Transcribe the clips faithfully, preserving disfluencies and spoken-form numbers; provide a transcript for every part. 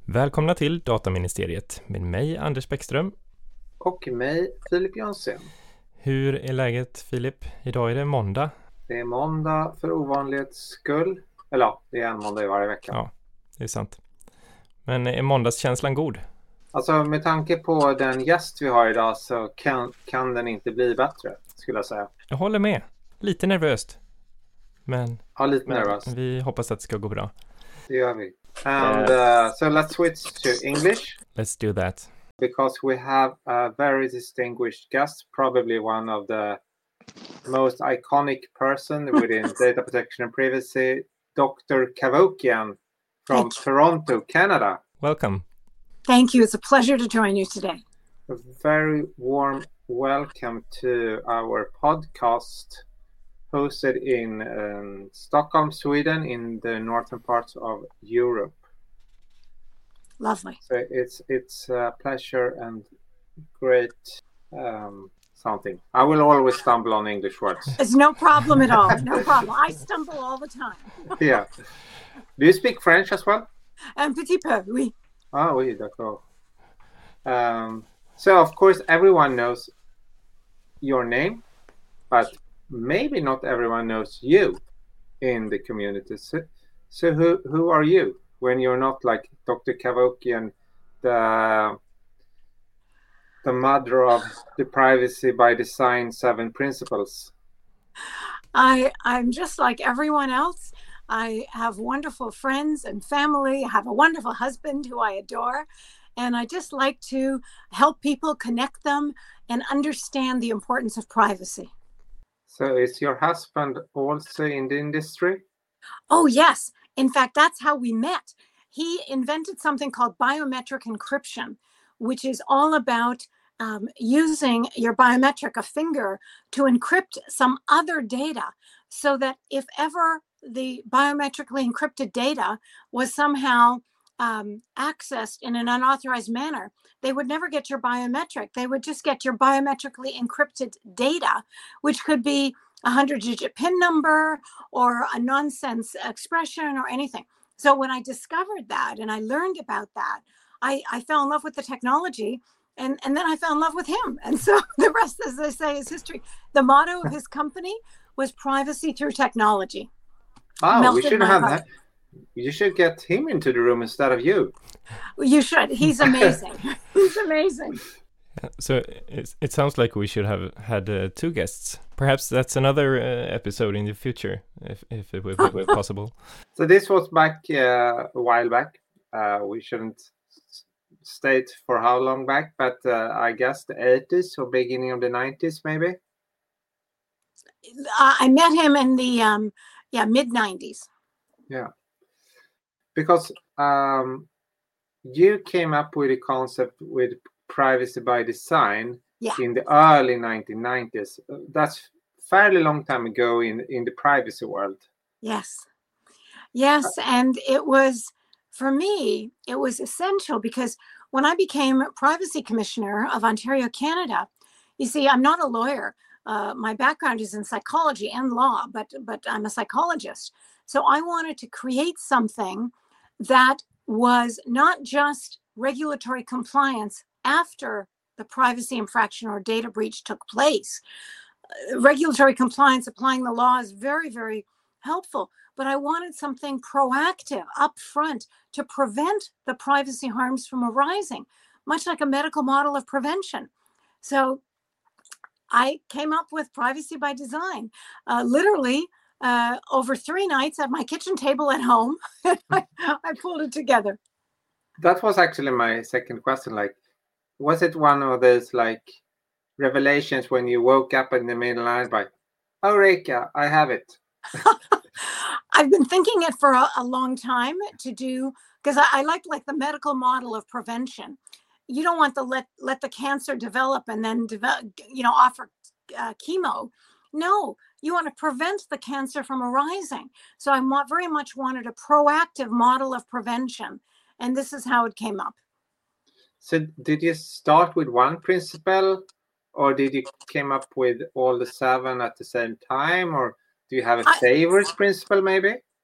Välkomna till Dataministeriet med mig Anders Bäckström. Och mig Filip Jönsson. Hur är läget Filip? Idag är det måndag. Det är måndag för ovanlighets skull. Eller ja, det är en måndag i varje vecka. Ja, det är sant. Men är måndagskänslan god? Alltså med tanke på den gäst vi har idag så kan, kan den inte bli bättre, skulle jag säga. Jag håller med. Lite nervöst. Men, ja, lite men nervös. Vi hoppas att det ska gå bra. Det gör vi. And uh, so let's switch to English. Let's do that. Because we have a very distinguished guest, probably one of the most iconic person within data protection and privacy, Doctor Cavoukian from Toronto, Canada. Welcome. Thank you. It's a pleasure to join you today. A very warm welcome to our podcast hosted in um, Stockholm, Sweden, in the northern parts of Europe. Lovely. So it's it's a pleasure and great um, something. I will always stumble on English words. It's no problem at all. No problem. I stumble all the time. Yeah. Do you speak French as well? Un petit peu, oui. Ah oui, d'accord. Um, so of course everyone knows your name, but maybe not everyone knows you in the community. So, so who who are you when you're not like Doctor Cavoukian, the the mother of the privacy by design seven principles? I I'm just like everyone else. I have wonderful friends and family. I have a wonderful husband who I adore. And I just like to help people, connect them, and understand the importance of privacy. So is your husband also in the industry? Oh, yes. In fact, that's how we met. He invented something called biometric encryption, which is all about um, using your biometric, a finger, to encrypt some other data so that if ever the biometrically encrypted data was somehow um, accessed in an unauthorized manner, they would never get your biometric. They would just get your biometrically encrypted data, which could be a hundred-digit PIN number or a nonsense expression or anything. So when I discovered that and I learned about that, I, I fell in love with the technology, and, and then I fell in love with him. And so the rest, as they say, is history. The motto of his company was privacy through technology. Oh, we should have that. You should get him into the room instead of you. You should. He's amazing. He's amazing. So it, it sounds like we should have had uh, two guests. Perhaps that's another uh, episode in the future, if if it would be possible. So this was back uh, a while back. Uh, we shouldn't state for how long back, but uh, I guess the eighties or beginning of the nineties, maybe. Uh, I met him in the um, yeah mid nineties. Yeah, because um, you came up with a concept with privacy by design yeah. in the early nineteen nineties. That's fairly long time ago in in the privacy world. Yes, yes, and it was, for me, it was essential because when I became privacy commissioner of Ontario, Canada, you see, I'm not a lawyer. Uh, my background is in psychology and law, but but I'm a psychologist. So I wanted to create something that was not just regulatory compliance after the privacy infraction or data breach took place. Uh, regulatory compliance, applying the law, is very, very helpful. But I wanted something proactive up front to prevent the privacy harms from arising, much like a medical model of prevention. So I came up with privacy by design, uh, literally uh, over three nights at my kitchen table at home. I, I pulled it together. That was actually my second question. Like, was it one of those like revelations when you woke up in the middle of the night by, oh, Reka, I have it? I've been thinking it for a, a long time to do, because I, I like like the medical model of prevention. You don't want to let let the cancer develop and then develop, you know, offer uh, chemo. No, you want to prevent the cancer from arising. So I mo- very much wanted a proactive model of prevention, and this is how it came up. So did you start with one principle, or did you came up with all the seven at the same time, or do you have a favorite I, principle maybe?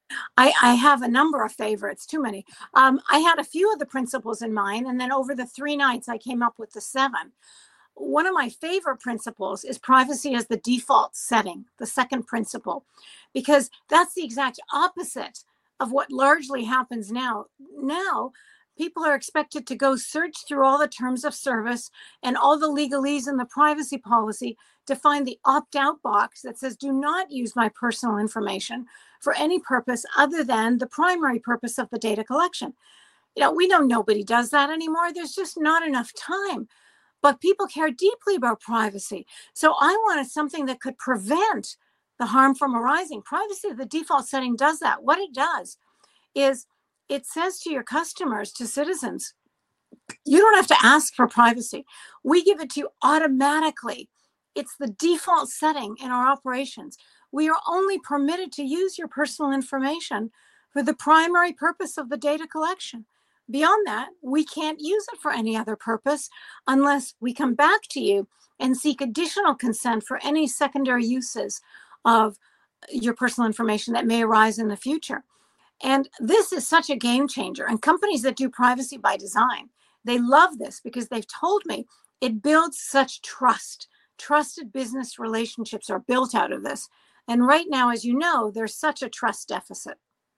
I, I have a number of favorites, too many. Um, I had a few of the principles in mind, and then over the three nights, I came up with the seven. One of my favorite principles is privacy as the default setting, the second principle, because that's the exact opposite of what largely happens now. Now, people are expected to go search through all the terms of service and all the legalese in the privacy policy to find the opt-out box that says, do not use my personal information for any purpose other than the primary purpose of the data collection. You know, we know nobody does that anymore. There's just not enough time. But people care deeply about privacy. So I wanted something that could prevent the harm from arising. Privacy, the default setting, does that. What it does is it says to your customers, to citizens, you don't have to ask for privacy. We give it to you automatically. It's the default setting in our operations. We are only permitted to use your personal information for the primary purpose of the data collection. Beyond that, we can't use it for any other purpose unless we come back to you and seek additional consent for any secondary uses of your personal information that may arise in the future. And this is such a game changer. And companies that do privacy by design, they love this because they've told me it builds such trust. Trusted business relationships are built out of this. And right now, as you know, there's such a trust deficit.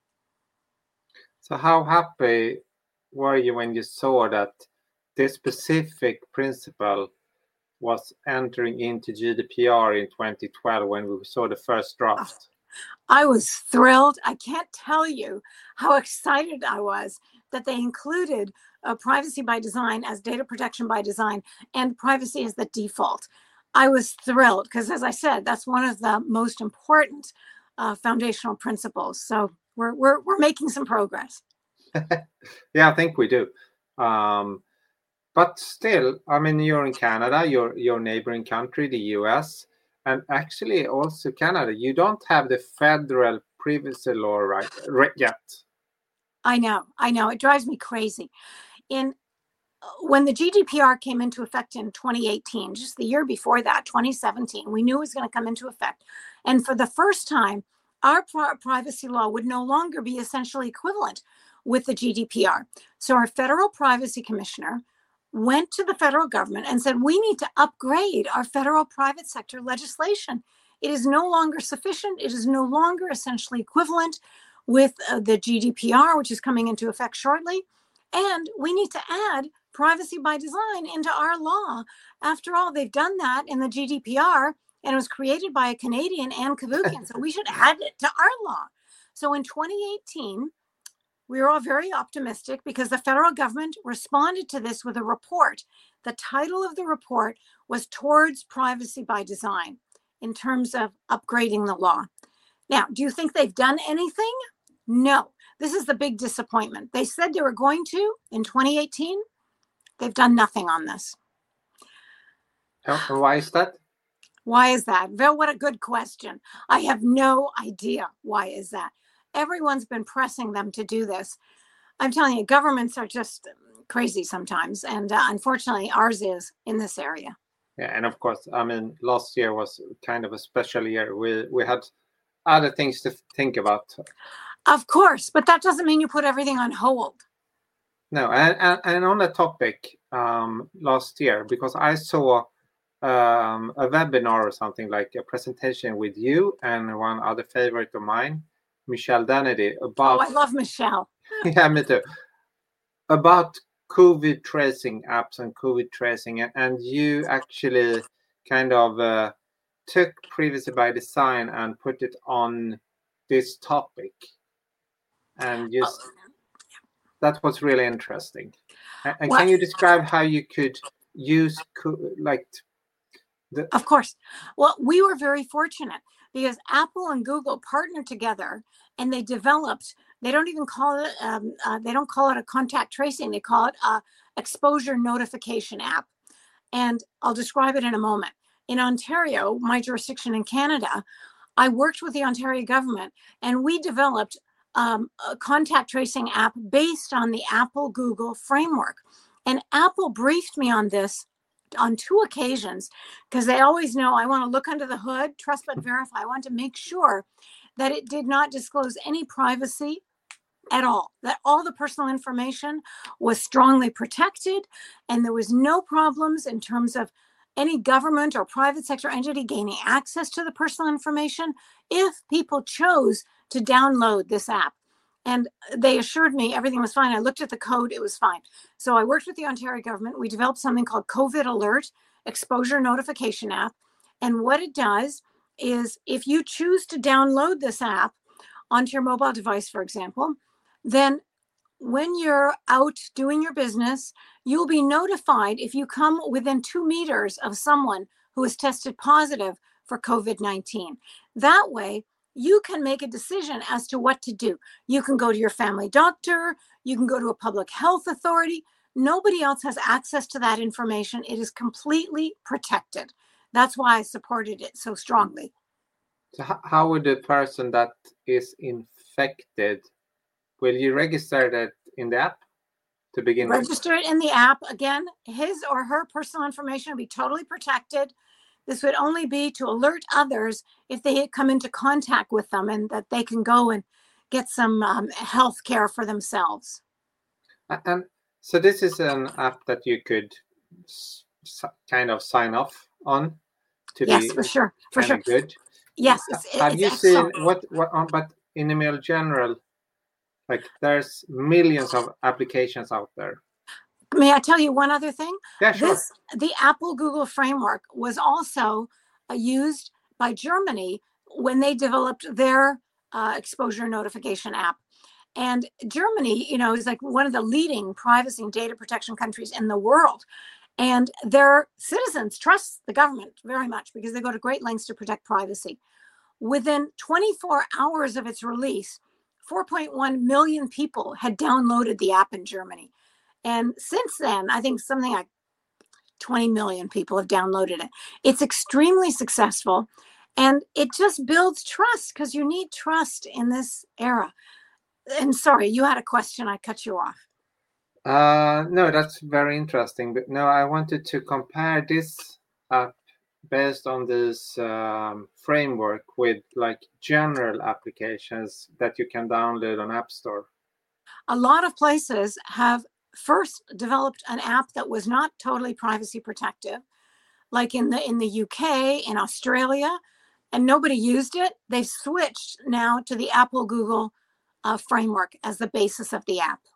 So how happy were you when you saw that this specific principle was entering into G D P R in twenty twelve when we saw the first draft? I was thrilled. I can't tell you how excited I was that they included uh, privacy by design as data protection by design and privacy as the default. I was thrilled because, as I said, that's one of the most important uh, foundational principles. So we're, we're, we're making some progress. Yeah, I think we do. Um, but still, I mean, you're in Canada, your your neighboring country, the U S, and actually also Canada. You don't have the federal privacy law right, right yet. I know, I know. It drives me crazy. In when the G D P R came into effect in twenty eighteen, just the year before that, twenty seventeen, we knew it was going to come into effect. And for the first time, our pri- privacy law would no longer be essentially equivalent with the G D P R. So our federal privacy commissioner went to the federal government and said, we need to upgrade our federal private sector legislation. It is no longer sufficient. It is no longer essentially equivalent with uh, the G D P R, which is coming into effect shortly. And we need to add privacy by design into our law. After all, they've done that in the G D P R, and it was created by a Canadian, Ann Cavoukian. So we should add it to our law. So in twenty eighteen, we were all very optimistic because the federal government responded to this with a report. The title of the report was Towards Privacy by Design in terms of upgrading the law. Now, do you think they've done anything? No. This is the big disappointment. They said they were going to in twenty eighteen. They've done nothing on this. And why is that? Why is that? Well, what a good question. I have no idea why is that. Everyone's been pressing them to do this. I'm telling you, governments are just crazy sometimes. And uh, unfortunately, ours is in this area. Yeah, and of course, I mean, last year was kind of a special year. We we had other things to think about. Of course, but that doesn't mean you put everything on hold. No, and, and, and on the topic um, last year, because I saw um, a webinar or something like a presentation with you and one other favorite of mine, Michelle Dannedy, about... Oh, I love Michelle. Yeah, me too. About COVID tracing apps and COVID tracing. And, and you actually kind of uh, took privacy by design and put it on this topic. And just... Oh. That was really interesting. And, and can you describe how you could use, like... The... Of course. Well, we were very fortunate because Apple and Google partnered together and they developed, they don't even call it, um, uh, they don't call it a contact tracing. They call it a exposure notification app. And I'll describe it in a moment. In Ontario, my jurisdiction in Canada, I worked with the Ontario government and we developed um, a contact tracing app based on the Apple Google framework. And Apple briefed me on this on two occasions, because they always know I want to look under the hood, trust but verify. I want to make sure that it did not disclose any privacy at all, that all the personal information was strongly protected, and there was no problems in terms of any government or private sector entity gaining access to the personal information if people chose to download this app. And they assured me everything was fine. I looked at the code, it was fine. So I worked with the Ontario government. We developed something called COVID Alert Exposure Notification App. And what it does is if you choose to download this app onto your mobile device, for example, then when you're out doing your business, you'll be notified if you come within two meters of someone who is tested positive for COVID nineteen. That way, you can make a decision as to what to do. You can go to your family doctor, you can go to a public health authority. Nobody else has access to that information. It is completely protected. That's why I supported it so strongly. So how would the person that is infected, will you register that in the app to begin with? Register it in the app. Again, his or her personal information will be totally protected. This would only be to alert others if they had come into contact with them, and that they can go and get some um, health care for themselves. And so this is an app that you could s- kind of sign off on to yes, be for sure, for sure. good. Yes, it's, Have it's you excellent. seen what what on? But in the mail general, like there's millions of applications out there. May I tell you one other thing? Yeah, sure. This, the Apple Google framework was also uh, used by Germany when they developed their uh, exposure notification app. And Germany, you know, is like one of the leading privacy and data protection countries in the world. And their citizens trust the government very much because they go to great lengths to protect privacy. Within twenty-four hours of its release, four point one million people had downloaded the app in Germany. And since then, I think something like twenty million people have downloaded it. It's extremely successful, and it just builds trust because you need trust in this era. And sorry, you had a question. I cut you off. Uh, no, that's very interesting. But no, I wanted to compare this app based on this um, framework with like general applications that you can download on App Store. A lot of places have first developed an app that was not totally privacy protective, like in the in the U K, in Australia, and nobody used it. They've switched now to the Apple Google uh, framework as the basis of the app.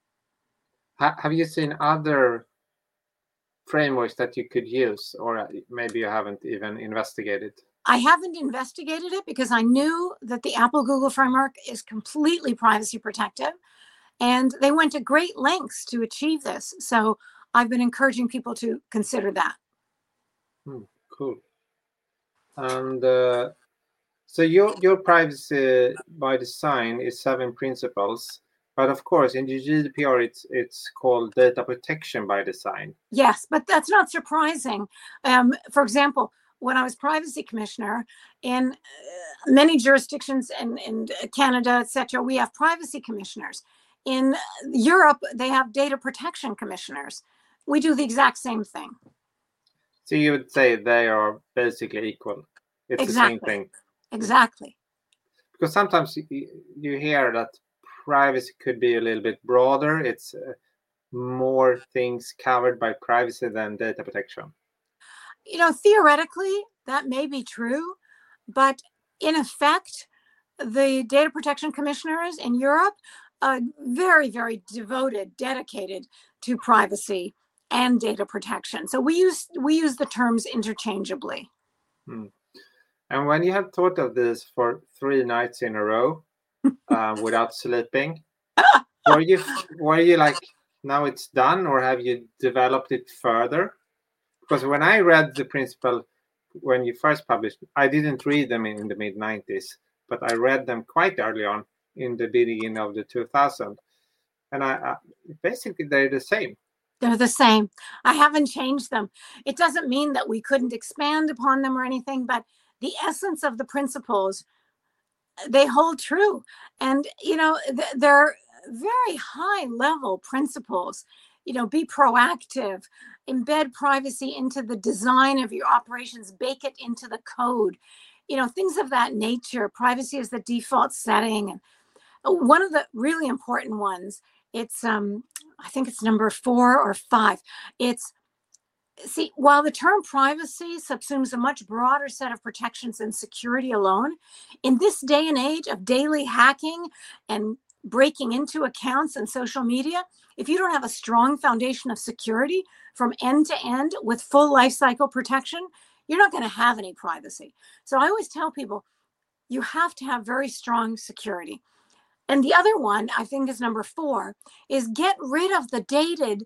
Ha- have you seen other frameworks that you could use, or maybe you haven't even investigated? I haven't investigated it because I knew that the Apple Google framework is completely privacy protective. And they went to great lengths to achieve this. So I've been encouraging people to consider that. Hmm, cool. And uh, so your your privacy by design is seven principles, but of course in the G D P R it's it's called data protection by design. Yes, but that's not surprising. Um, for example, when I was privacy commissioner in uh, many jurisdictions in, in Canada, et cetera, we have privacy commissioners. In Europe, they have data protection commissioners. We do the exact same thing. So you would say they are basically equal. It's exactly. the same thing. Exactly. Because sometimes you, you hear that privacy could be a little bit broader. It's uh, more things covered by privacy than data protection. You know, theoretically, that may be true. But in effect, the data protection commissioners in Europe are very, very devoted, dedicated to privacy and data protection. So we use we use the terms interchangeably. Hmm. And when you have thought of this for three nights in a row uh, without sleeping, were you were you like, now it's done, or have you developed it further? Because when I read the principle when you first published, I didn't read them in the mid nineties, but I read them quite early on in the beginning of the two thousands, and I, I basically they're the same. They're the same. I haven't changed them. It doesn't mean that we couldn't expand upon them or anything, but the essence of the principles, they hold true. And, you know, th- they're very high level principles. you know, be proactive, embed privacy into the design of your operations, bake it into the code, you know, things of that nature. Privacy is the default setting. And one of the really important ones, it's, um, I think it's number four or five. It's, see, while the term privacy subsumes a much broader set of protections than security alone, in this day and age of daily hacking and breaking into accounts and social media, if you don't have a strong foundation of security from end to end with full life cycle protection, you're not going to have any privacy. So I always tell people, you have to have very strong security. And the other one, I think is number four, is get rid of the dated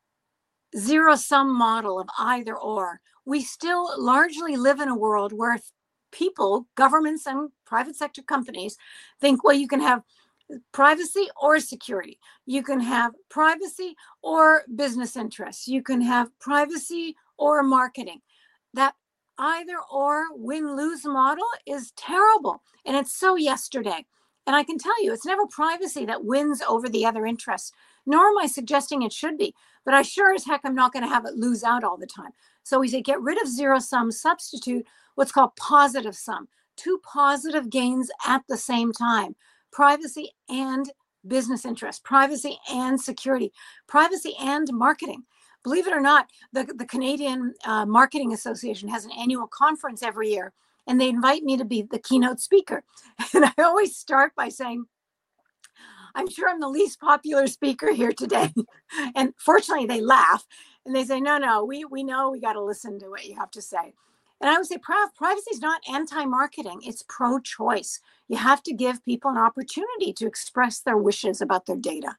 zero-sum model of either or. We still largely live in a world where people, governments and private sector companies think, well, you can have privacy or security. You can have privacy or business interests. You can have privacy or marketing. That either or win-lose model is terrible. And it's so yesterday. And I can tell you, it's never privacy that wins over the other interests, nor am I suggesting it should be. But I sure as heck am not going to have it lose out all the time. So we say get rid of zero sum, substitute what's called positive sum, two positive gains at the same time, privacy and business interest, privacy and security, privacy and marketing. Believe it or not, the, the Canadian uh, Marketing Association has an annual conference every year, and they invite me to be the keynote speaker. And I always start by saying, I'm sure I'm the least popular speaker here today. And fortunately, they laugh and they say, no, no, we, we know we got to listen to what you have to say. And I would say privacy is not anti-marketing. It's pro-choice. You have to give people an opportunity to express their wishes about their data.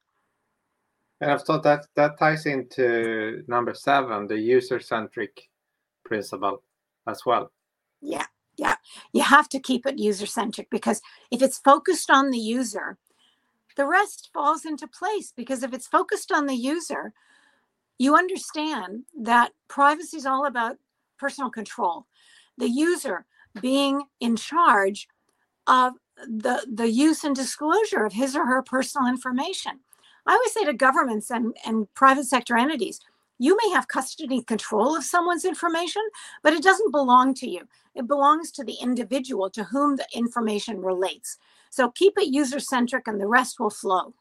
And I've thought that that ties into number seven, the user-centric principle as well. Yeah, yeah. You have to keep it user-centric, because if it's focused on the user, the rest falls into place. Because if it's focused on the user, you understand that privacy is all about personal control. The user being in charge of the, the use and disclosure of his or her personal information. I always say to governments and, and private sector entities, you may have custody control of someone's information, but it doesn't belong to you. It belongs to the individual to whom the information relates. So keep it user-centric and the rest will flow.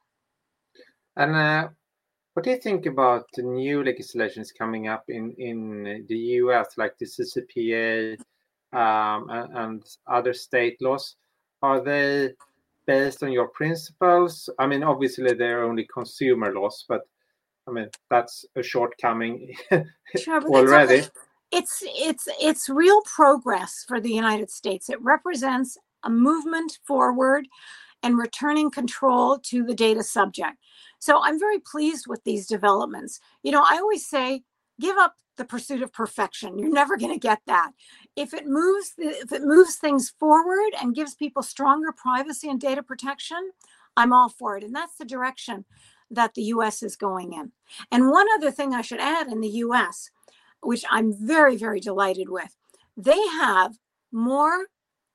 And uh, what do you think about the new legislations coming up in, in the U S, like the C C P A um, and, and other state laws? Are they based on your principles? I mean, obviously they're only consumer laws, but I mean, that's a shortcoming sure, already. Okay. It's, it's, it's real progress for the United States. It represents a movement forward and returning control to the data subject. So I'm very pleased with these developments. You know, I always say, give up the pursuit of perfection. You're never going to get that. If it moves, if it moves things forward and gives people stronger privacy and data protection, I'm all for it. And that's the direction that the U S is going in. And one other thing I should add in the U S, which I'm very, very delighted with, they have more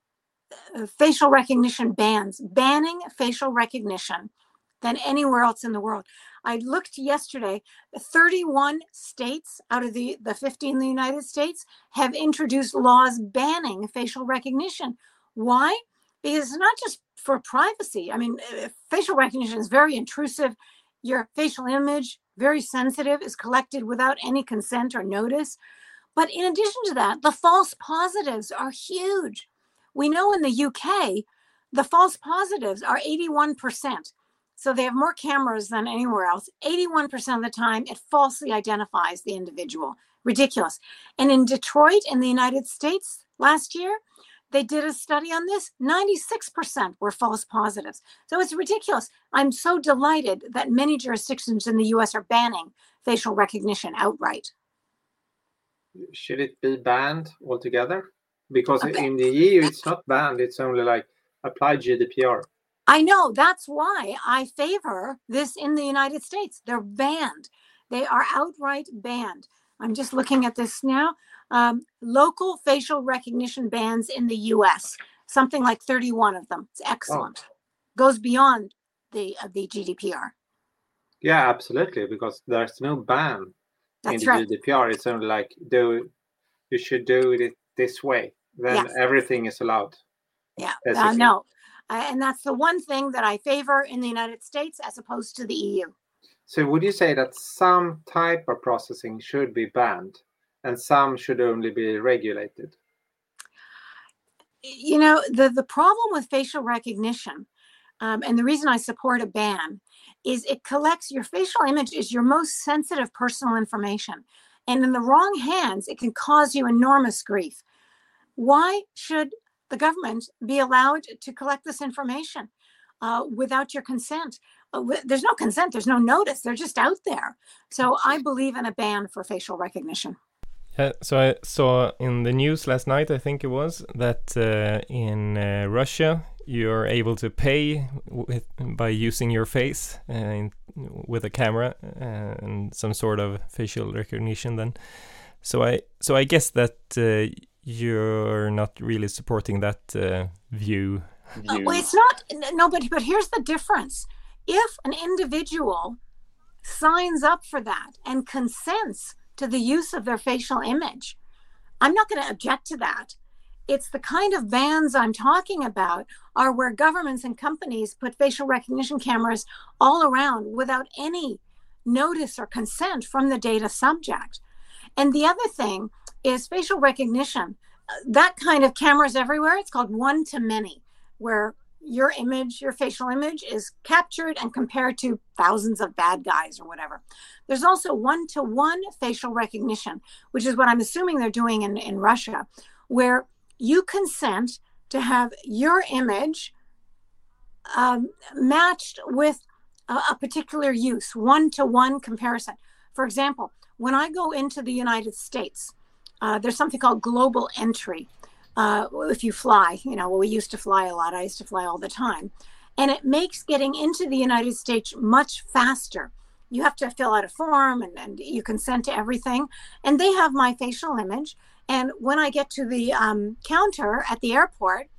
uh, facial recognition bans, banning facial recognition than anywhere else in the world. I looked yesterday, thirty-one states out of the, the fifty in the United States have introduced laws banning facial recognition. Why? Because it's not just for privacy. I mean, facial recognition is very intrusive. Your facial image, very sensitive, is collected without any consent or notice. But in addition to that, the false positives are huge. We know in the U K, the false positives are eighty-one percent. So they have more cameras than anywhere else. eighty-one percent of the time, it falsely identifies the individual. Ridiculous. And in Detroit, in the United States, last year, they did a study on this. ninety-six percent were false positives. So it's ridiculous. I'm so delighted that many jurisdictions in the U S are banning facial recognition outright. Should it be banned altogether? Because Okay. in the E U, it's not banned. It's only like apply G D P R. I know, that's why I favor this in the United States. They're banned. They are outright banned. I'm just looking at this now. Um, local facial recognition bans in the U S, something like thirty-one of them. It's excellent. Oh. Goes beyond the uh, the G D P R. Yeah, absolutely, because there's no ban That's in the right. G D P R. It's only like, do you should do it this way. Then Yes. everything is allowed. Yeah, uh, basically. no. Uh, and that's the one thing that I favor in the United States as opposed to the E U. So would you say that some type of processing should be banned and some should only be regulated? You know, the, the problem with facial recognition, um, and the reason I support a ban, is it collects your facial image is your most sensitive personal information. And in the wrong hands, it can cause you enormous grief. Why should the government be allowed to collect this information uh, without your consent? Uh, w- there's no consent, there's no notice, they're just out there. So I believe in a ban for facial recognition. Yeah, so I saw in the news last night, I think it was, that uh, in uh, Russia you're able to pay with, by using your face uh, in, with a camera uh, and some sort of facial recognition. Then, so I so I guess that uh, you're not really supporting that uh, view. Uh, well, it's not. No, but but here's the difference. If an individual signs up for that and consents to the use of their facial image, I'm not going to object to that. It's the kind of bans I'm talking about are where governments and companies put facial recognition cameras all around without any notice or consent from the data subject. And the other thing is facial recognition. That kind of cameras everywhere, it's called one-to-many, where your image, your facial image is captured and compared to thousands of bad guys or whatever. There's also one-to-one facial recognition, which is what I'm assuming they're doing in, in Russia, where you consent to have your image um, matched with a, a particular use, one-to-one comparison. For example, when I go into the United States, uh, there's something called global entry. Uh, if you fly, you know, well, we used to fly a lot. I used to fly all the time. And it makes getting into the United States much faster. You have to fill out a form and, and you consent to everything. And they have my facial image. And when I get to the um, counter at the airport,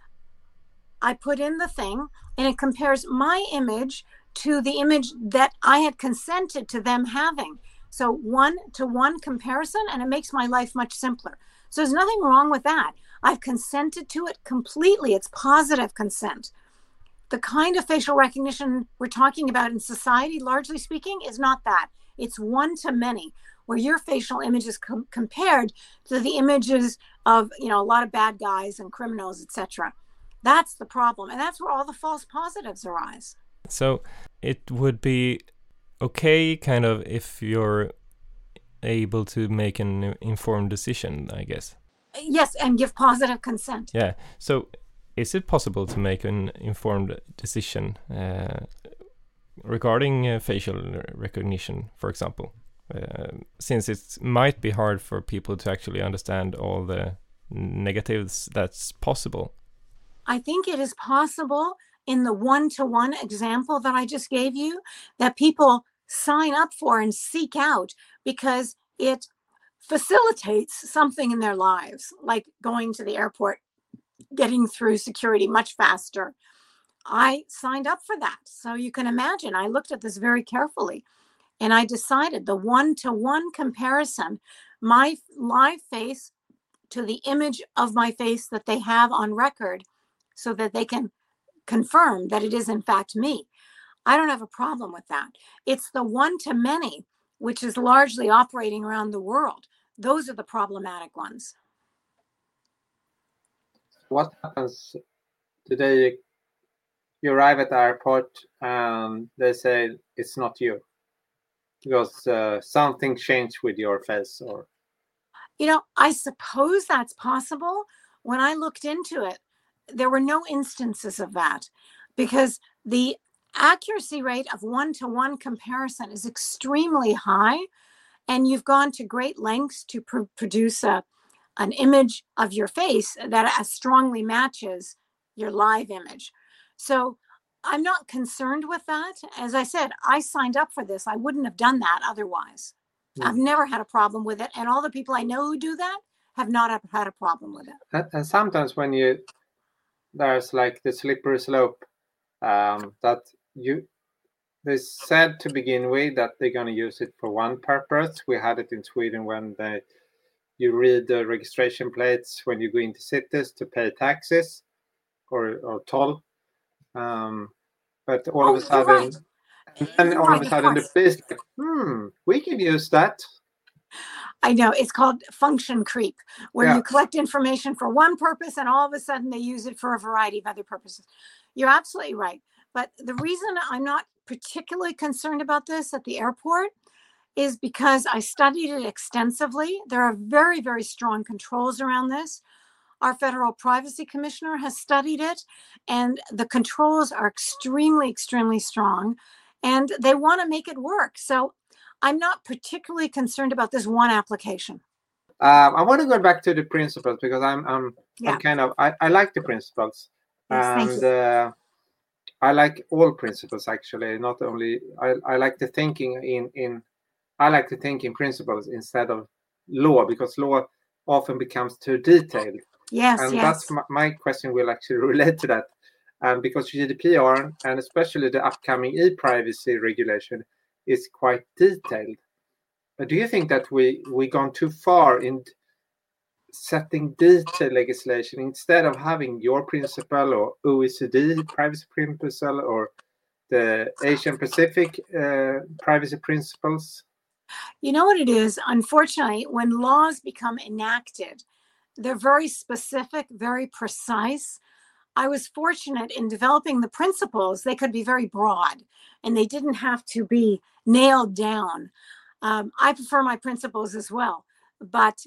I put in the thing and it compares my image to the image that I had consented to them having. So one to one comparison, and it makes my life much simpler. So there's nothing wrong with that. I've consented to it completely. It's positive consent. The kind of facial recognition we're talking about in society, largely speaking, is not that. It's one to many, where your facial image is com- compared to the images of, you know, a lot of bad guys and criminals, et cetera. That's the problem. And that's where all the false positives arise. So it would be okay, kind of, if you're able to make an informed decision, I guess. Yes, and give positive consent. Yeah. So is it possible to make an informed decision uh, regarding uh, facial recognition, for example? Uh, since it might be hard for people to actually understand all the negatives that's possible. I think it is possible in the one-to-one example that I just gave you that people sign up for and seek out because it facilitates something in their lives, like going to the airport, getting through security much faster. I signed up for that. So you can imagine, I looked at this very carefully and I decided the one-to-one comparison, my live face to the image of my face that they have on record so that they can confirm that it is in fact me. I don't have a problem with that. It's the one-to-many, which is largely operating around the world. Those are the problematic ones. What happens today? You arrive at the airport and they say it's not you because uh, something changed with your face, or you know, I suppose that's possible. When I looked into it, there were no instances of that because the accuracy rate of one-to-one comparison is extremely high, and you've gone to great lengths to pr- produce a, an image of your face that as strongly matches your live image. So I'm not concerned with that. As I said, I signed up for this. I wouldn't have done that otherwise. Mm. I've never had a problem with it. And all the people I know who do that have not had a problem with it. And, and sometimes when you, there's like the slippery slope um, that you, they said to begin with that they're going to use it for one purpose. We had it in Sweden when they, you read the registration plates when you go into cities to pay taxes or, or toll. Um, but all Oh, of a you're sudden, right. and then You're all right, of a of sudden the course. police, like, hmm, we can use that. I know, it's called function creep, where Yeah. you collect information for one purpose and all of a sudden they use it for a variety of other purposes. You're absolutely right. But the reason I'm not particularly concerned about this at the airport is because I studied it extensively. There are very, very strong controls around this. Our federal privacy commissioner has studied it, and the controls are extremely, extremely strong, and they want to make it work. So I'm not particularly concerned about this one application. Um, I want to go back to the principles because I'm I'm, Yeah. I'm kind of I, I like the principles, Yes, thank and you. uh, I like all principles actually. Not only I, I like the thinking in in I like to think in principles instead of law, because law often becomes too detailed. Yes, And yes. that's my, my question will actually relate to that, um, because G D P R and especially the upcoming e-privacy regulation is quite detailed. But do you think that we we gone too far in setting detailed legislation instead of having your principle or O E C D privacy principle or the Asian Pacific uh, privacy principles? You know what it is? Unfortunately, when laws become enacted, they're very specific, very precise. I was fortunate in developing the principles. They could be very broad and they didn't have to be nailed down. Um, I prefer my principles as well, but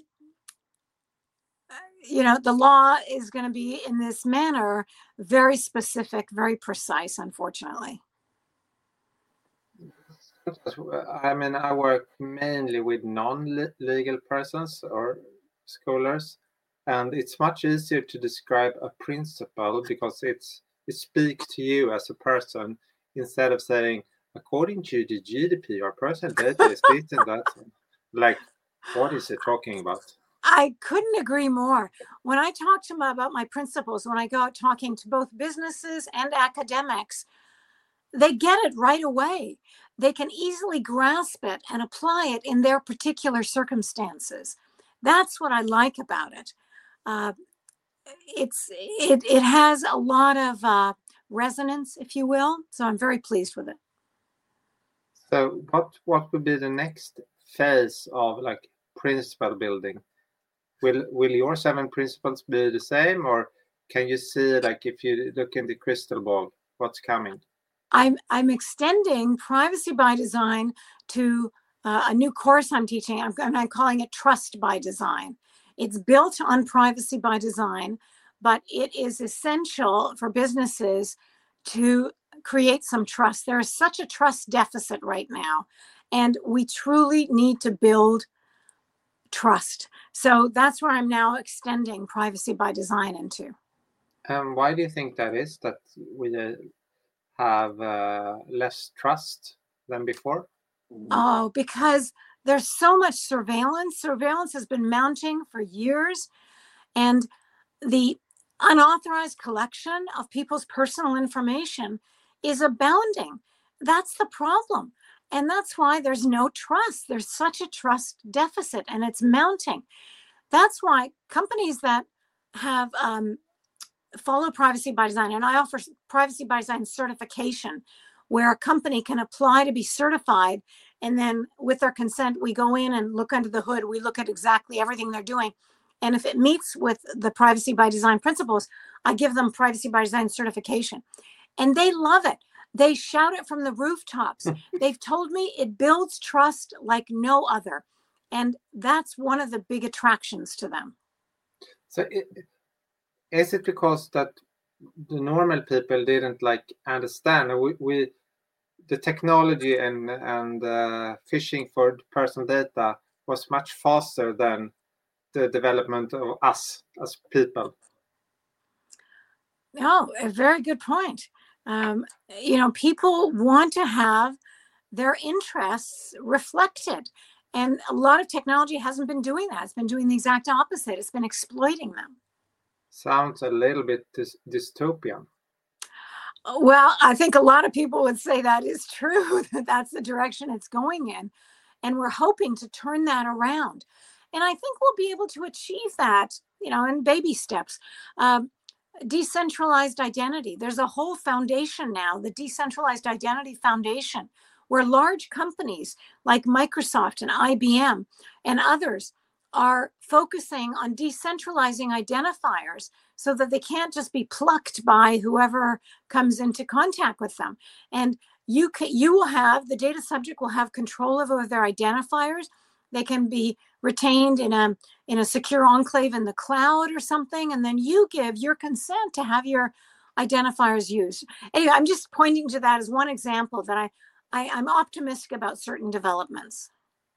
you know, the law is going to be in this manner, very specific, very precise, unfortunately. I mean, I work mainly with non-legal persons or scholars, and it's much easier to describe a principle because it's it speaks to you as a person instead of saying, according to the G D P R, personal data is this and that. Like, what is it talking about? I couldn't agree more. When I talk to them about my principles, when I go out talking to both businesses and academics, they get it right away. They can easily grasp it and apply it in their particular circumstances. That's what I like about it. Uh, it's it it has a lot of uh, resonance, if you will. So I'm very pleased with it. So, what what would be the next phase of like principle building? Will will your seven principles be the same, or can you see, like, if you look in the crystal ball, what's coming? I'm I'm extending privacy by design to uh, a new course I'm teaching. I'm, I'm calling it Trust by Design. It's built on privacy by design, but it is essential for businesses to create some trust. There is such a trust deficit right now, and we truly need to build trust. So that's where I'm now extending privacy by design into. Um, why do you think that is, that we uh, have uh, less trust than before? Oh, because there's so much surveillance. Surveillance has been mounting for years, and the unauthorized collection of people's personal information is abounding. That's the problem. And that's why there's no trust. There's such a trust deficit, and it's mounting. That's why companies that have um, follow privacy by design, and I offer privacy by design certification, where a company can apply to be certified, and then with their consent, we go in and look under the hood. We look at exactly everything they're doing. And if it meets with the privacy by design principles, I give them privacy by design certification. And they love it. They shout it from the rooftops. They've told me it builds trust like no other. And that's one of the big attractions to them. So it, is it because that the normal people didn't like understand? We, we the technology and and uh, phishing for personal data was much faster than the development of us as people. No, a very good point. Um, you know, people want to have their interests reflected. And a lot of technology hasn't been doing that. It's been doing the exact opposite. It's been exploiting them. Sounds a little bit dy- dystopian. Well, I think a lot of people would say that is true, that that's the direction it's going in. And we're hoping to turn that around. And I think we'll be able to achieve that, you know, in baby steps. Um, decentralized identity. There's a whole foundation now, the Decentralized Identity Foundation, where large companies like Microsoft and I B M and others are focusing on decentralizing identifiers so that they can't just be plucked by whoever comes into contact with them. And you can, you will have, the data subject will have control over their identifiers. They can be retained in a in a secure enclave in the cloud or something, and then you give your consent to have your identifiers used. Anyway, I'm just pointing to that as one example that I, I I'm optimistic about certain developments.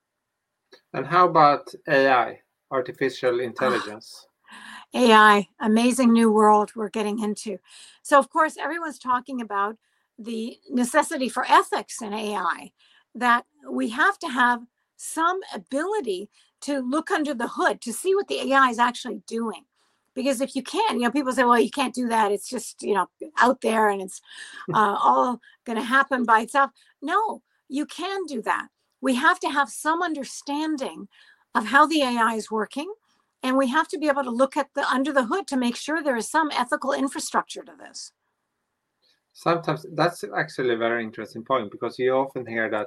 And how about A I, artificial intelligence? A I, amazing new world we're getting into. So of course, everyone's talking about the necessity for ethics in A I, that we have to have some ability to look under the hood to see what the A I is actually doing. Because if you can't, you know, people say, well, you can't do that. It's just, you know, out there and it's uh, all going to happen by itself. No, you can do that. We have to have some understanding of how the A I is working. And we have to be able to look at the under the hood to make sure there is some ethical infrastructure to this. Sometimes that's actually a very interesting point, because you often hear that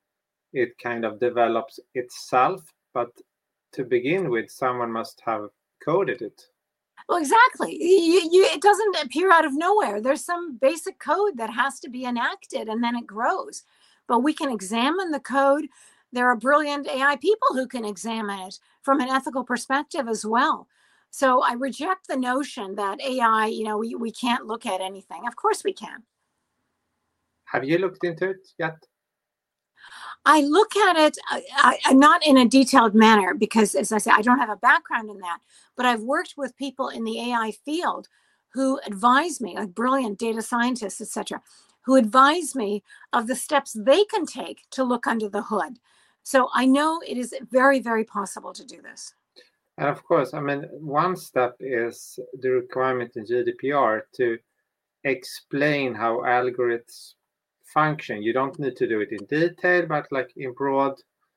it kind of develops itself, but to begin with, someone must have coded it. Well, exactly. You, you, it doesn't appear out of nowhere. There's some basic code that has to be enacted, and then it grows. But we can examine the code. There are brilliant A I people who can examine it from an ethical perspective as well. So I reject the notion that A I, you know, we, we can't look at anything. Of course we can. Have you looked into it yet? I look at it I, I, not in a detailed manner because, as I say, I don't have a background in that. But I've worked with people in the A I field who advise me, like brilliant data scientists, et cetera, who advise me of the steps they can take to look under the hood. So I know it is very, very possible to do this. And of course, I mean, one step is the requirement in G D P R to explain how algorithms function. You don't need to do it in detail, but like in broad,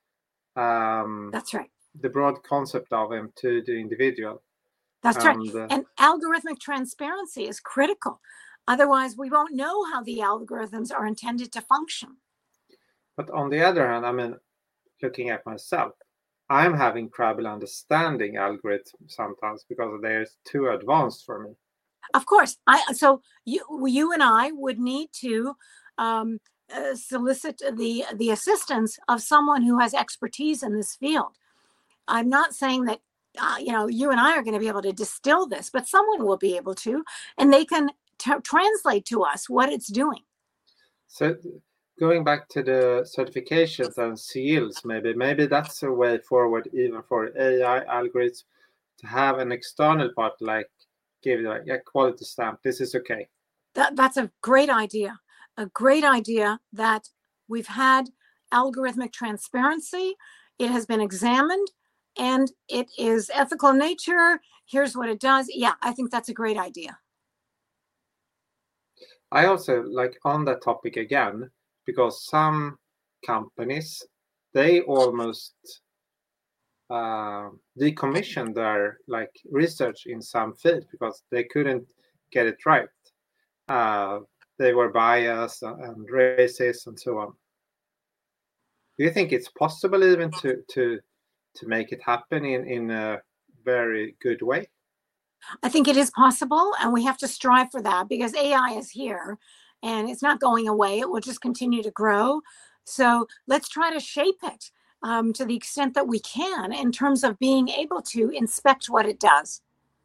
um, that's right. The broad concept of them to the individual. That's and, right. Uh, and algorithmic transparency is critical. Otherwise, we won't know how the algorithms are intended to function. But on the other hand, I mean, looking at myself, I'm having trouble understanding algorithms sometimes because they're too advanced for me. Of course. I so you you and I would need to um, uh, solicit the the assistance of someone who has expertise in this field. I'm not saying that uh, you know you and I are going to be able to distill this, but someone will be able to, and they can t- translate to us what it's doing. So going back to the certifications and seals, maybe maybe that's a way forward even for A I algorithms to have an external part, like give like a quality stamp. This is okay. That, that's a great idea. A great idea that we've had algorithmic transparency. It has been examined and it is ethical in nature. Here's what it does. Yeah, I think that's a great idea. I also like on that topic again, because some companies, they almost uh, decommissioned their like research in some field because they couldn't get it right. Uh, they were biased and racist and so on. Do you think it's possible even to to to make it happen in, in a very good way? I think it is possible, and we have to strive for that because A I is here and it's not going away. It will just continue to grow. So let's try to shape it um, to the extent that we can in terms of being able to inspect what it does.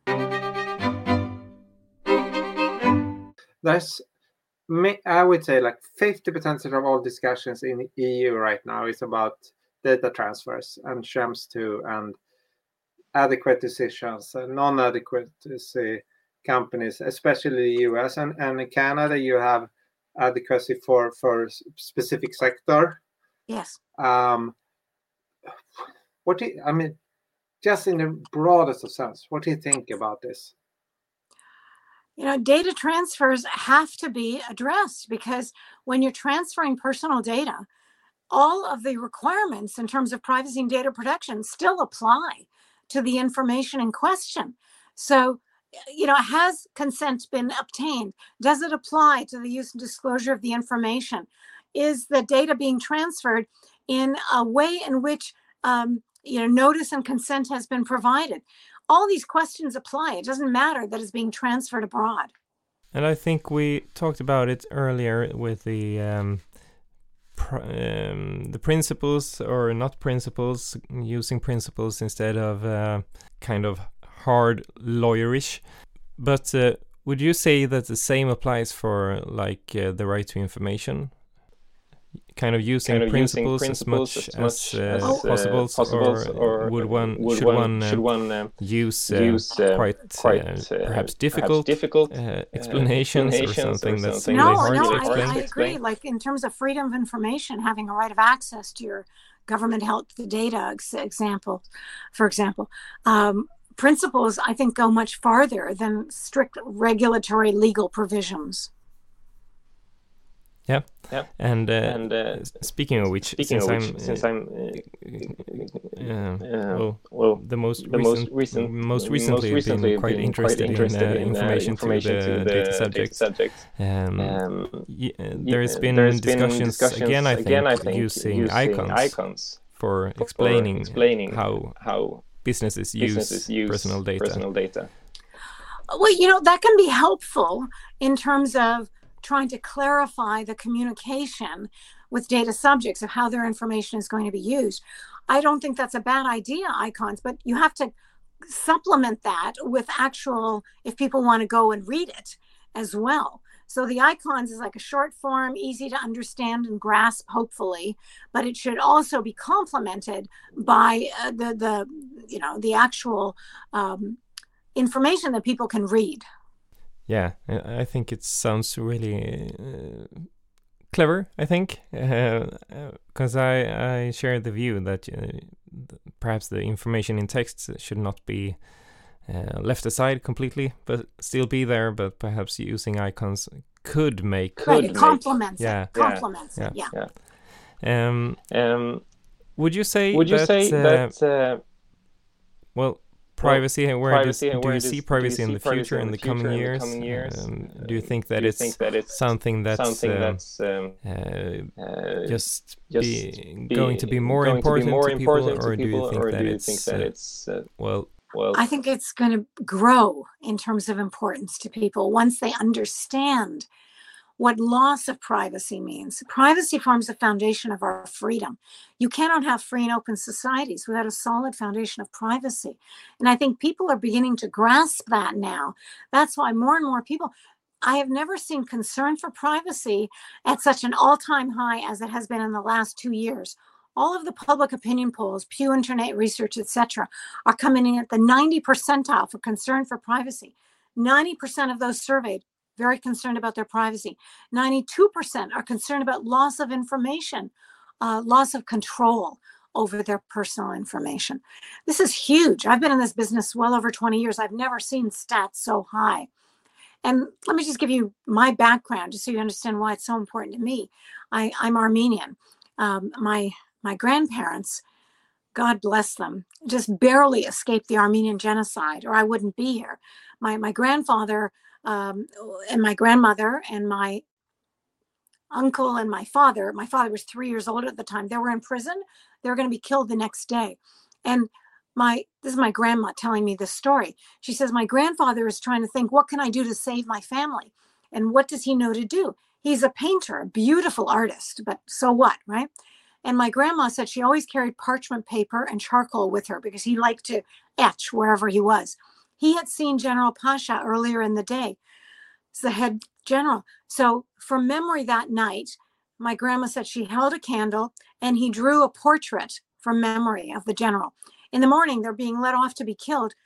There's, I would say, like fifty percent of all discussions in the E U right now is about data transfers and Schrems two and adequate decisions and non-adequate companies, especially the U S and, and in Canada, you have adequacy for, for specific sector. Yes. Um, what do you, I mean, just in the broadest of sense, what do you think about this? You know, data transfers have to be addressed, because when you're transferring personal data, all of the requirements in terms of privacy and data protection still apply to the information in question. So, you know, has consent been obtained? Does it apply to the use and disclosure of the information? Is the data being transferred in a way in which, um, you know, notice and consent has been provided? All these questions apply. It doesn't matter that it's being transferred abroad. And I think we talked about it earlier with the um, pr- um, the principles, or not principles, using principles instead of uh, kind of hard lawyerish. But uh, would you say that the same applies for like uh, the right to information? Kind of using, kind of principles, using principles as much as, as, uh, as possible, uh, possible, or, or would one would should one, one, uh, should one uh, use, uh, use uh, quite, quite uh, perhaps difficult, perhaps difficult uh, explanations, explanations or something, or something that's no, really hard no, to explain? I, I agree. Like in terms of freedom of information, having a right of access to your government health data, ex- example, for example, um, principles I think go much farther than strict regulatory legal provisions. Yeah, yeah. And, uh, and uh, speaking of which, speaking since, of which I'm, since I'm, uh, uh, uh, well, well, the most the recent, most recent, most recently, most recently been quite been interested, quite interested in, uh, in information, uh, information to the, to the data subjects. Data subjects. Um, um, y- uh, there's been there's discussions, been discussions again, I think, again, I think using, using icons, icons for, for explaining, explaining how, how businesses, businesses use use personal data. Personal data. Well, you know, that can be helpful in terms of trying to clarify the communication with data subjects of how their information is going to be used. I don't think that's a bad idea, icons, but you have to supplement that with actual, if people want to go and read it as well. So the icons is like a short form, easy to understand and grasp, hopefully, but it should also be complemented by uh, the, the, you know, the actual um, information that people can read. Yeah, I think it sounds really uh, clever, I think, because uh, uh, I, I share the view that uh, perhaps the information in text should not be uh, left aside completely, but still be there, but perhaps using icons could make... Could right, it complements make, it. Yeah. Complements yeah. it, yeah. yeah. Um, um, would you say would you that... say uh, that uh, well... Privacy, and where, privacy does, and do where you does, see privacy in the future, in the future, coming in years? The coming years? Um, do you think that, do you it's, think that it's something that's, something um, that's um, uh, uh, just, just be be going to be more going important to, be more to people, important or to do people, you think or that do you it's, think that uh, it's uh, well, well? I think it's going to grow in terms of importance to people once they understand what loss of privacy means. Privacy forms the foundation of our freedom. You cannot have free and open societies without a solid foundation of privacy. And I think people are beginning to grasp that now. That's why more and more people, I have never seen concern for privacy at such an all-time high as it has been in the last two years. All of the public opinion polls, Pew Internet Research, et cetera, are coming in at the ninety percentile for concern for privacy. ninety percent of those surveyed very concerned about their privacy. ninety-two percent are concerned about loss of information, uh, loss of control over their personal information. This is huge. I've been in this business well over twenty years. I've never seen stats so high. And let me just give you my background, just so you understand why it's so important to me. I, I'm Armenian. Um, my, my grandparents, God bless them, just barely escaped the Armenian genocide, or I wouldn't be here. My, my grandfather Um, and my grandmother and my uncle and my father, my father was three years old at the time, they were in prison. They were going to be killed the next day. And my, this is my grandma telling me this story. She says, my grandfather is trying to think, what can I do to save my family? And what does he know to do? He's a painter, a beautiful artist, but so what, right? And my grandma said she always carried parchment paper and charcoal with her because he liked to etch wherever he was. He had seen General Pasha earlier in the day. It's the head general. So from memory that night, my grandma said she held a candle and he drew a portrait from memory of the general. In the morning, they're being let off to be killed.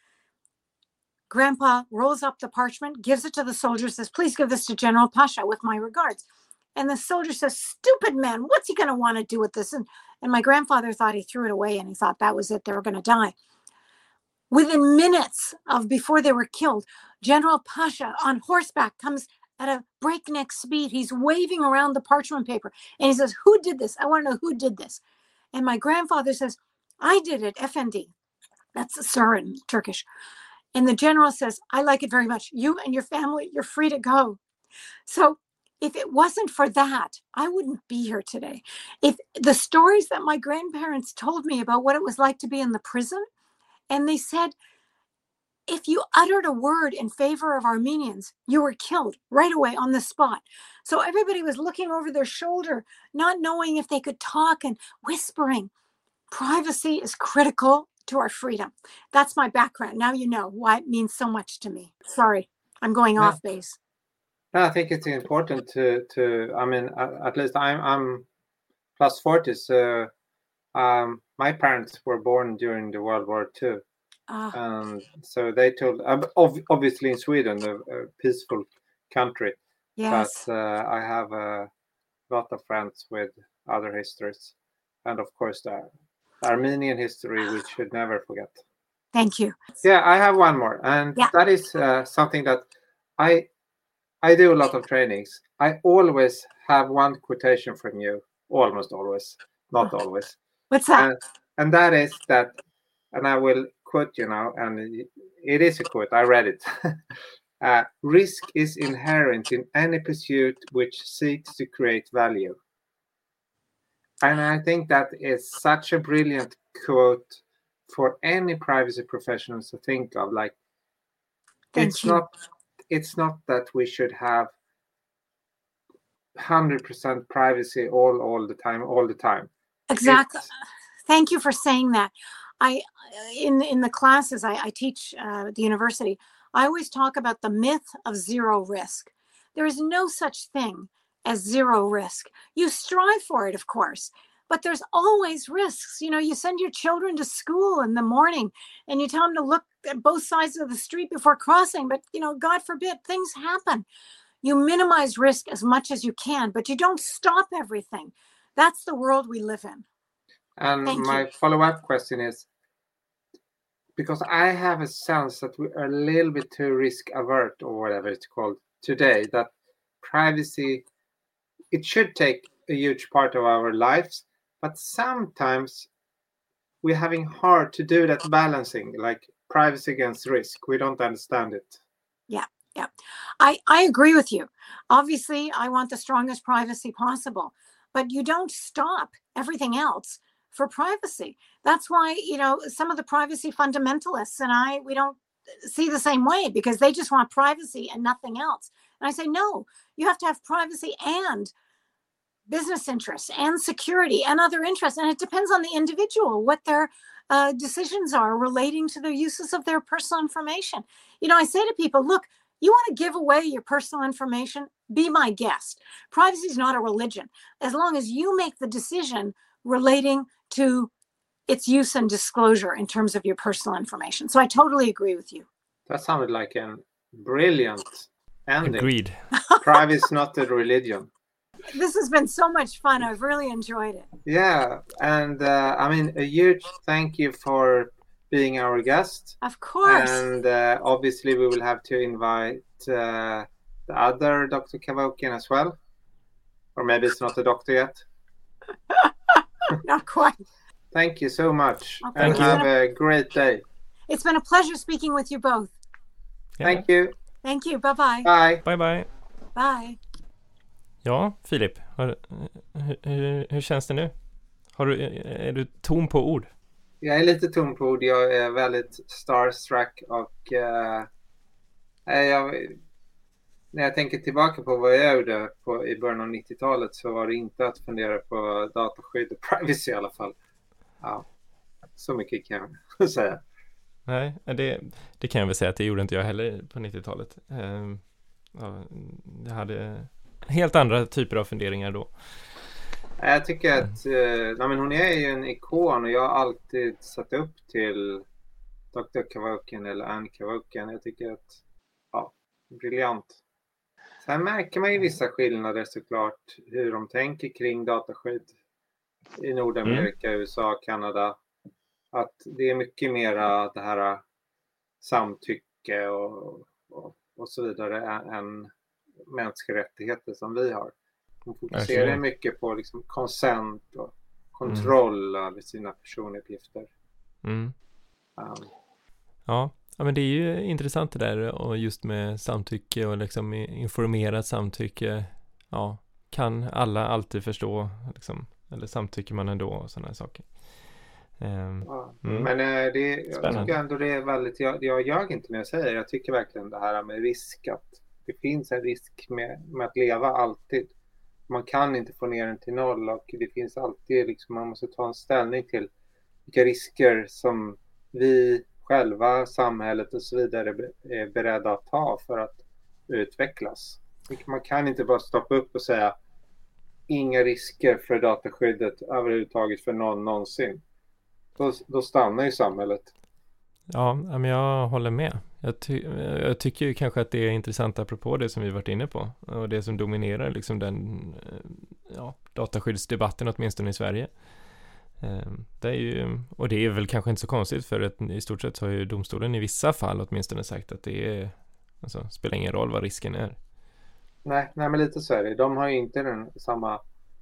Grandpa rolls up the parchment, gives it to the soldier, says, please give this to General Pasha with my regards. And the soldier says, stupid man, what's he going to want to do with this? And, and my grandfather thought he threw it away and he thought that was it. They were going to die. Within minutes of before they were killed, General Pasha on horseback comes at a breakneck speed. He's waving around the parchment paper and he says, who did this? I want to know who did this. And my grandfather says, I did it, Efendi. That's sir in Turkish. And the general says, I like it very much. You and your family, you're free to go. So if it wasn't for that, I wouldn't be here today. If the stories that my grandparents told me about what it was like to be in the prison, and they said, if you uttered a word in favor of Armenians, you were killed right away on the spot. So everybody was looking over their shoulder, not knowing if they could talk and whispering. Privacy is critical to our freedom. That's my background. Now you know why it means so much to me. Sorry, I'm going Yeah. off base. No, I think it's important to, to I mean, at, at least I'm, I'm plus forty, so um, my parents were born during the World War Two. Uh, And so they told, ob- obviously in Sweden, a, a peaceful country, yes. but uh, I have a lot of friends with other histories. And of course, the Armenian history, we should never forget. Thank you. Yeah, I have one more. And Yeah. that is uh, something that I I do a lot of trainings. I always have one quotation from you, almost always, not always. What's that? And, and that is that, and I will quote you now, and it is a quote, I read it. uh, risk is inherent in any pursuit which seeks to create value. And I think that is such a brilliant quote for any privacy professionals to think of. Like, Thank it's you. not it's not that we should have one hundred percent privacy all all the time, all the time. Exactly. It's, Thank you for saying that. I, in in the classes I, I teach uh, at the university, I always talk about the myth of zero risk. There is no such thing as zero risk. You strive for it, of course, but there's always risks. You know, you send your children to school in the morning and you tell them to look at both sides of the street before crossing, but, you know, God forbid, things happen. You minimize risk as much as you can, but you don't stop everything. That's the world we live in. and Thank my you. follow-up question is, because I have a sense that we are a little bit too risk avert, or whatever it's called today, that privacy, it should take a huge part of our lives, but sometimes we're having hard to do that balancing, like privacy against risk. We don't understand it. Yeah, yeah. I, I agree with you. Obviously, I want the strongest privacy possible, but you don't stop everything else for privacy. That's why, you know, some of the privacy fundamentalists and I, we don't see the same way because they just want privacy and nothing else. And I say, no, you have to have privacy and business interests and security and other interests. And it depends on the individual, what their uh, decisions are relating to the uses of their personal information. You know, I say to people, look, you want to give away your personal information? Be my guest. Privacy is not a religion. As long as you make the decision relating to its use and disclosure in terms of your personal information. So I totally agree with you. That sounded like a brilliant ending. Agreed. Privacy is not a religion. This has been so much fun. I've really enjoyed it. Yeah, and uh, I mean, a huge thank you for being our guest. Of course. And uh, obviously we will have to invite uh, the other Doctor Kevorkian as well. Or maybe it's not a doctor yet. Not quite. Thank you so much. Okay. And Thank you. have a great day. It's been a pleasure speaking with you both. Ja. Thank you. Thank you. Bye-bye. Bye. Bye bye. Bye. Ja, Filip, har, hur, hur, hur känns det nu? Har du, är du tom på ord? Jag är lite tom på ord. Jag är väldigt starstruck och uh, jag, när jag tänker tillbaka på vad jag gjorde på, i början av nittiotalet så var det inte att fundera på dataskydd och privacy i alla fall. Ja, så mycket kan jag säga. Nej, det, det kan jag väl säga att det gjorde inte jag heller på nittiotalet. Um, ja, jag hade helt andra typer av funderingar då. Jag tycker att eh, nej, men hon är ju en ikon och jag har alltid satt upp till doktor Kevorkian eller Anne Kevorkian. Jag tycker att, ja, briljant. Sen märker man ju vissa skillnader såklart hur de tänker kring dataskydd i Nordamerika, mm. U S A, Kanada. Att det är mycket mera det här samtycke och och, och så vidare än, än mänskliga rättigheter som vi har. De fokuserar Verkligen. mycket på liksom consent och kontroll mm. över sina personuppgifter. Mm. Um, Ja. Ja, men det är ju intressant det där och just med samtycke och liksom informerat samtycke. Ja, kan alla alltid förstå liksom, eller samtycker man ändå och sådana saker. Um, ja. mm. Men äh, det, jag Spännande. tycker ändå det är väldigt, jag, jag ljög inte när jag säger, jag tycker verkligen det här med risk, att det finns en risk med, med att leva alltid. Man kan inte få ner den till noll och det finns alltid, liksom, man måste ta en ställning till vilka risker som vi själva, samhället och så vidare är beredda att ta för att utvecklas. Man kan inte bara stoppa upp och säga inga risker för dataskyddet överhuvudtaget för någon någonsin. Då, då stannar ju samhället. Ja, men jag håller med. Jag, ty- jag tycker ju kanske att det är intressant apropå det som vi varit inne på och det som dominerar liksom den ja, dataskyddsdebatten åtminstone i Sverige. Det är ju, och det är väl kanske inte så konstigt för att i stort sett har ju domstolen i vissa fall åtminstone sagt att det är, alltså, spelar ingen roll vad risken är. Nej, nej men lite så är det. De har ju inte den samma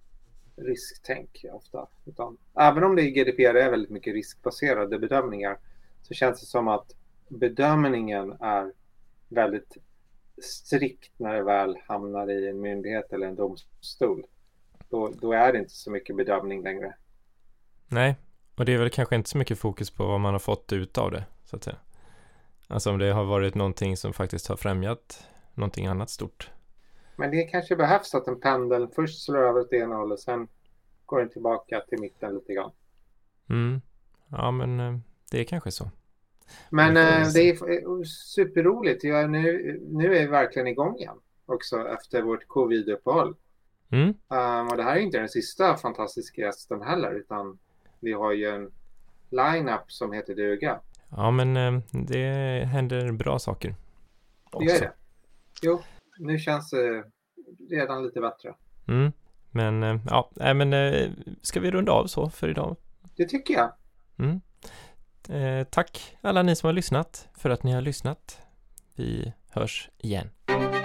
risktänk ofta. Utan, även om det i G D P R är väldigt mycket riskbaserade bedömningar så känns det som att bedömningen är väldigt strikt när det väl hamnar i en myndighet eller en domstol. Då, då är det inte så mycket bedömning längre. Nej, och det är väl kanske inte så mycket fokus på vad man har fått ut av det, så att säga. Alltså om det har varit någonting som faktiskt har främjat någonting annat stort. Men det kanske behövs att en pendel först slår över åt ena hållet och sen går den tillbaka till mitten lite grann. Mm. Ja, men det är kanske så. Men det, det är superroligt. Jag, nu, nu är vi verkligen igång igen också efter vårt covid-uppehåll. Mm. Um, och det här är inte den sista fantastiska gästen heller, utan vi har ju en line-up som heter duga. Ja, men det händer bra saker också. Det gör det. Jo, nu känns det redan lite bättre. Mm. Men ja, nej, men ska vi runda av så för idag? Det tycker jag. Mm. Eh, tack alla ni som har lyssnat för att ni har lyssnat. Vi hörs igen.